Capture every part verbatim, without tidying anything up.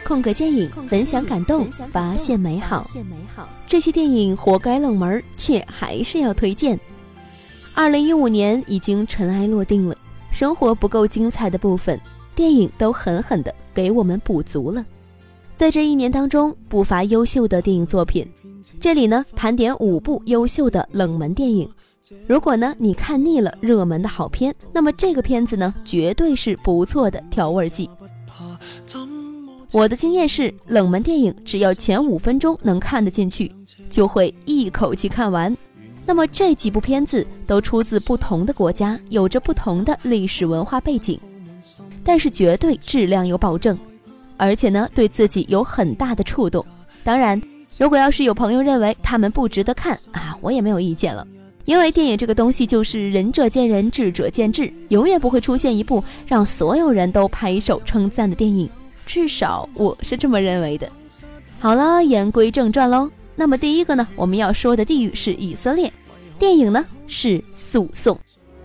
空格电影，分享感动，发现美好。这些电影活该冷门，却还是要推荐。二零一五年已经尘埃落定了，生活不够精彩的部分，电影都狠狠地给我们补足了。在这一年当中，不乏优秀的电影作品。这里呢，盘点五部优秀的冷门电影。如果呢你看腻了热门的好片，那么这个片子呢，绝对是不错的调味剂。我的经验是，冷门电影只要前五分钟能看得进去，就会一口气看完。那么这几部片子都出自不同的国家，有着不同的历史文化背景，但是绝对质量有保证，而且呢对自己有很大的触动。当然，如果要是有朋友认为他们不值得看啊，我也没有意见了。因为电影这个东西就是仁者见仁，智者见智，永远不会出现一部让所有人都拍手称赞的电影，至少我是这么认为的。好了，言归正传喽。那么第一个呢，我们要说的地域是以色列，电影呢是《诉讼》。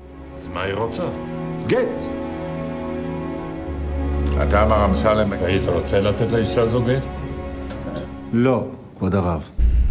גט. אתה אמר אמסלם, היית רוצה לתת לאישה זו גט? לא, כבוד הרב.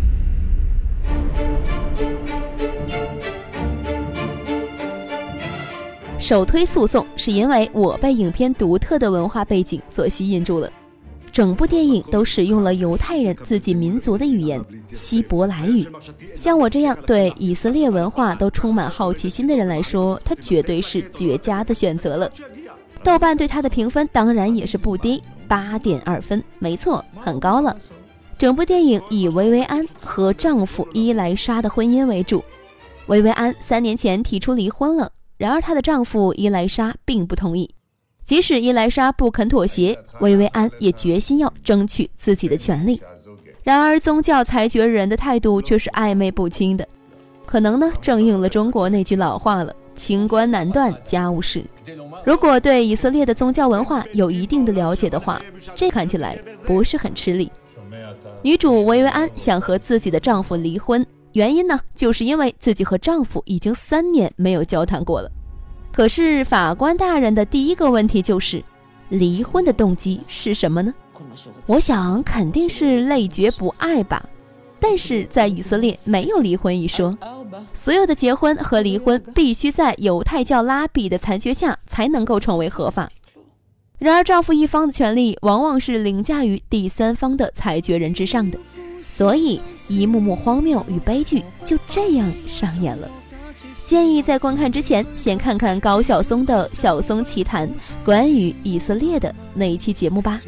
首推诉讼是因为我被影片独特的文化背景所吸引住了。整部电影都使用了犹太人自己民族的语言希伯来语，像我这样对以色列文化都充满好奇心的人来说，它绝对是绝佳的选择了。豆瓣对它的评分当然也是不低， 八点二分，没错，很高了。整部电影以薇薇安和丈夫伊莱莎的婚姻为主。薇薇安三年前提出离婚了，然而她的丈夫伊莱莎并不同意。即使伊莱莎不肯妥协，薇薇安也决心要争取自己的权利。然而宗教裁决人的态度却是暧昧不清的，可能呢正应了中国那句老话了，清官难断家务事。如果对以色列的宗教文化有一定的了解的话，这看起来不是很吃力。女主薇薇安想和自己的丈夫离婚，原因呢就是因为自己和丈夫已经三年没有交谈过了。可是法官大人的第一个问题就是，离婚的动机是什么呢？我想肯定是累觉不爱吧。但是在以色列没有离婚一说，所有的结婚和离婚必须在犹太教拉比的裁决下才能够成为合法。然而丈夫一方的权利往往是凌驾于第三方的裁决人之上的，所以一幕幕荒谬与悲剧就这样上演了。建议在观看之前先看看高晓松的《晓松奇谈》关于以色列的那一期节目吧。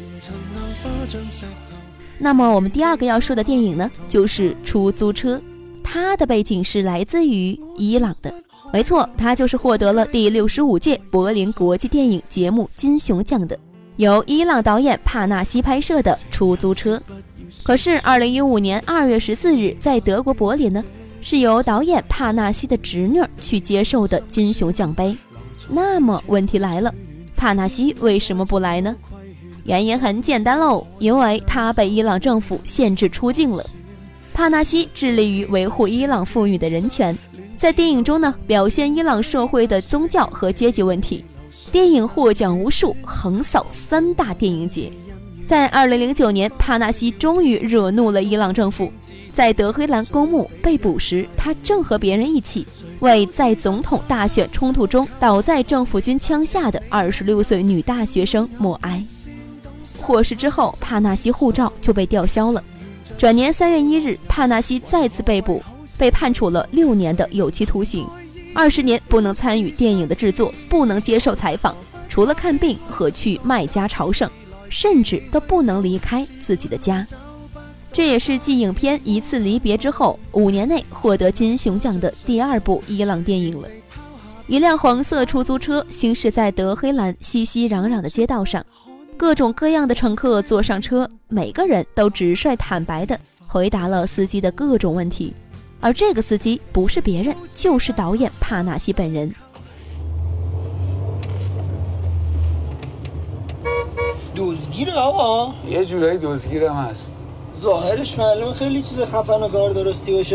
那么我们第二个要说的电影呢，就是出租车。它的背景是来自于伊朗的，没错，它就是获得了第六十五届柏林国际电影节目金熊奖的，由伊朗导演帕纳西拍摄的出租车。可是二零一五年二月十四日在德国柏林呢，是由导演帕纳西的侄女去接受的金熊奖杯。那么问题来了，帕纳西为什么不来呢？原因很简单喽，因为他被伊朗政府限制出境了。帕纳西致力于维护伊朗妇女的人权，在电影中呢，表现伊朗社会的宗教和阶级问题。电影获奖无数，横扫三大电影节。在二零零九年，帕纳西终于惹怒了伊朗政府。在德黑兰公墓被捕时，他正和别人一起为在总统大选冲突中倒在政府军枪下的二十六岁女大学生默哀。获释之后，帕纳西护照就被吊销了。转年三月一日，帕纳西再次被捕，被判处了六年的有期徒刑，二十年不能参与电影的制作，不能接受采访，除了看病和去麦加朝圣，甚至都不能离开自己的家。这也是继影片《一次离别》之后，五年内获得金熊奖的第二部伊朗电影了。一辆黄色出租车行驶在德黑兰熙熙攘攘的街道上，各种各样的乘客坐上车，每个人都直率坦白地回答了司机的各种问题，而这个司机不是别人，就是导演帕纳西本人。 دزگیره آقا یه جورایی دزگیرم هست ظاهرش معلومه خیلی چیز خفن و کار درستی باشه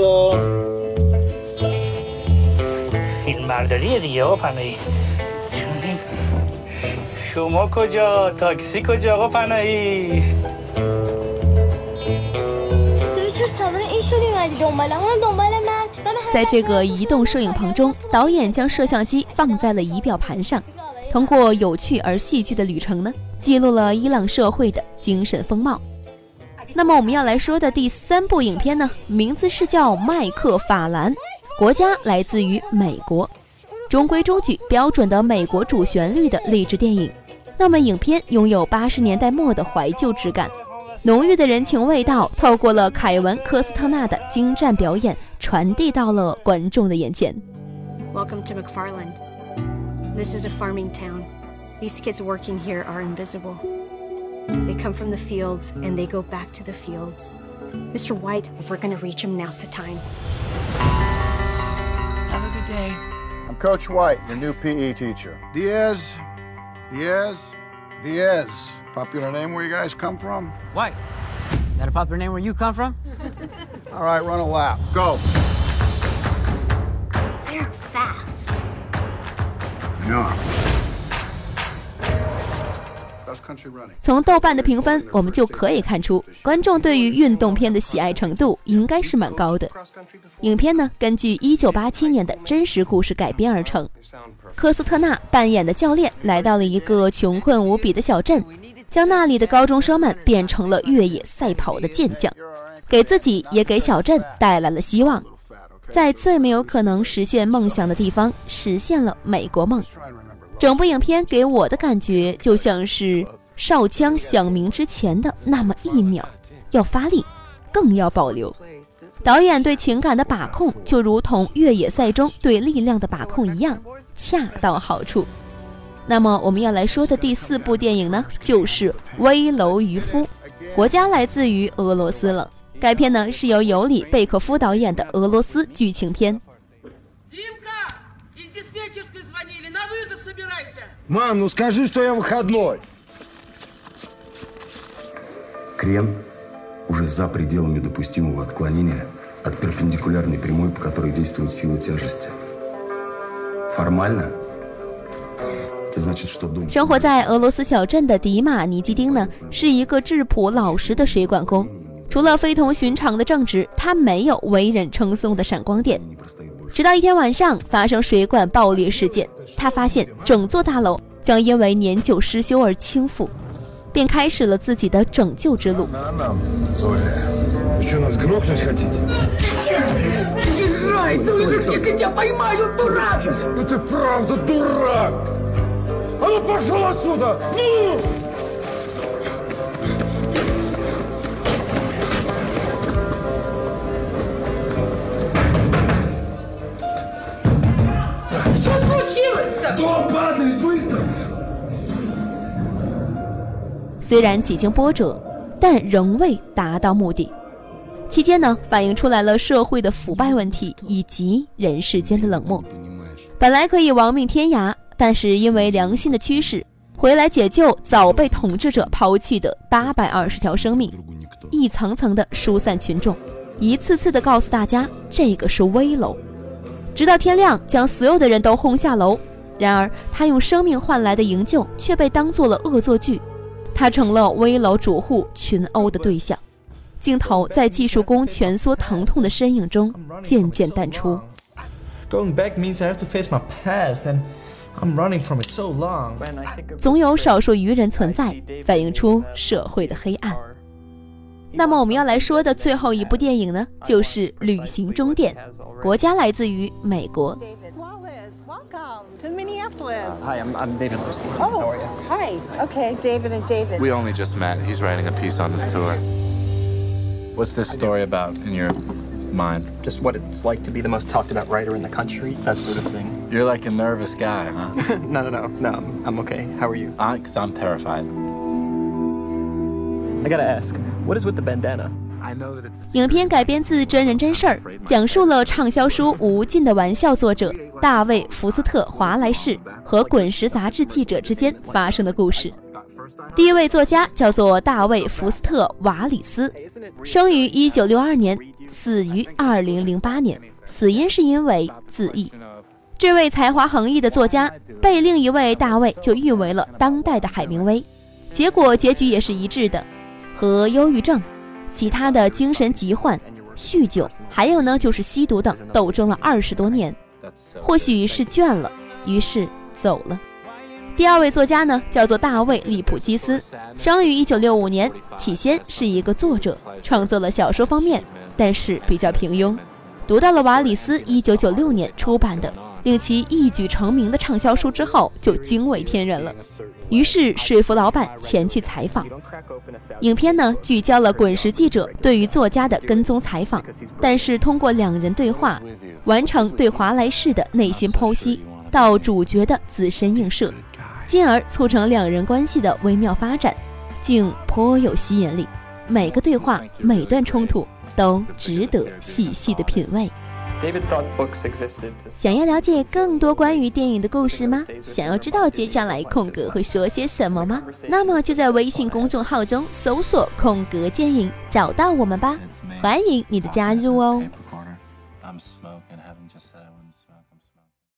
فیلم برداریه دیگه آقا پناهی شما کجا تاکسی کجا آقا فنایی 在这个移动摄影棚中，导演将摄像机放在了仪表盘上，通过有趣而戏剧的旅程呢，记录了伊朗社会的精神风貌。那么我们要来说的第三部影片呢，名字是叫《麦克法兰》，国家来自于美国，中规中矩标准的美国主旋律的励志电影。那么影片拥有八十年代末的怀旧质感，浓郁的人情味道透过了凯文·科斯特纳的精湛表演传递到了观众的眼前。 Welcome to McFarland. This is a farming town. These kids working here are invisible. They come from the fields and they go back to the fields. Mister White, if we're going to reach him, now's the time. Have a good day. I'm Coach White, your new P E teacher. Diaz, Diaz, Diaz. Popular name where you guys come from? White. That a popular name where you come from? All right, run a lap. Go. They're fast. Yeah. 从豆瓣的评分，我们就可以看出，观众对于运动片的喜爱程度应该是蛮高的。影片呢，根据一九八七年的真实故事改编而成。科斯特纳扮演的教练来到了一个穷困无比的小镇，将那里的高中生们变成了越野赛跑的健将，给自己也给小镇带来了希望。在最没有可能实现梦想的地方，实现了美国梦。整部影片给我的感觉就像是哨枪响鸣之前的那么一秒，要发力，更要保留。导演对情感的把控就如同越野赛中对力量的把控一样，恰到好处。那么我们要来说的第四部电影呢，就是《危楼渔夫》，国家来自于俄罗斯了。该片呢是由尤里·贝可夫导演的俄罗斯剧情片。 Мам, ну скажи, что я выходной. Крен уже за пределами допустимого отклонения от перпендикулярной прямой, по которой действует сила тяжести. Формально, это значит, что дом... 生活在俄罗斯小镇的迪马尼基丁呢，是一个质朴老实的水管工。除了非同寻常的正直，他没有为人称颂的闪光点。直到一天晚上发生水管爆裂事件，他发现整座大楼将因为年久失修而倾覆，便开始了自己的拯救之路。虽然几经波折，但仍未达到目的。期间呢，反映出来了社会的腐败问题以及人世间的冷漠。本来可以亡命天涯，但是因为良心的驱使，回来解救早被统治者抛弃的八百二十条生命，一层层的疏散群众，一次次的告诉大家这个是危楼，直到天亮将所有的人都轰下楼。然而他用生命换来的营救却被当作了恶作剧，他成了危楼主户群殴的对象。镜头在技术工蜷缩疼痛的身影中渐渐淡出。 Going back means I have to face my past and I'm running from it so long. 总有少数愚人存在，反映出社会的黑暗。那么我们要来说的最后一部电影呢，就是《旅行终点》，国家来自于美国。 Welcome to Minneapolis. Uh, hi, I'm, I'm David Lucy. Oh, how are you? Hi. Okay, David and David. We only just met. He's writing a piece on the tour. What's this story about in your mind? Just what it's like to be the most talked about writer in the country, that sort of thing. You're like a nervous guy, huh? no, no, no, no. I'm, I'm okay. How are you? Uh, 'cause I'm terrified. I gotta ask, what is with the bandana? 影片改编自真人真事儿，讲述了畅销书《无尽的玩笑》作者大卫·福斯特·华莱士和滚石杂志记者之间发生的故事。第一位作家叫做大卫·福斯特·瓦里斯，生于一九六二年，死于二零零八年，死因是因为自缢。 这位才华横溢的作家被另一位大卫就誉为了当代的海明威，结果结局也是一致的，和忧郁症、其他的精神疾患、酗酒，还有呢就是吸毒等斗争了二十多年，或许是倦了，于是走了。第二位作家呢，叫做大卫·利普基斯，生于一九六五年，起先是一个作者，创作了小说方面，但是比较平庸。读到了瓦里斯一九九六年出版的令其一举成名的畅销书之后，就惊为天人了，于是说服老板前去采访。影片呢聚焦了滚石记者对于作家的跟踪采访，但是通过两人对话，完成对华莱士的内心剖析到主角的自身映射，进而促成两人关系的微妙发展，竟颇有吸引力。每个对话，每段冲突都值得细细的品味。想要了解更多关于电影的故事吗？想要知道接下来空格会说些什么吗？那么就在微信公众号中搜索空格电影，找到我们吧，欢迎你的加入哦。